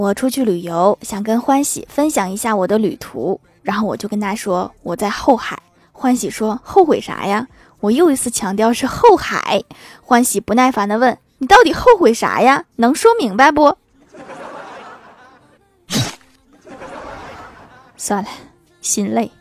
我出去旅游，想跟欢喜分享一下我的旅途，然后我就跟他说我在后海。欢喜说后悔啥呀？我又一次强调是后海。欢喜不耐烦地问，你到底后悔啥呀？能说明白不？算了，心累。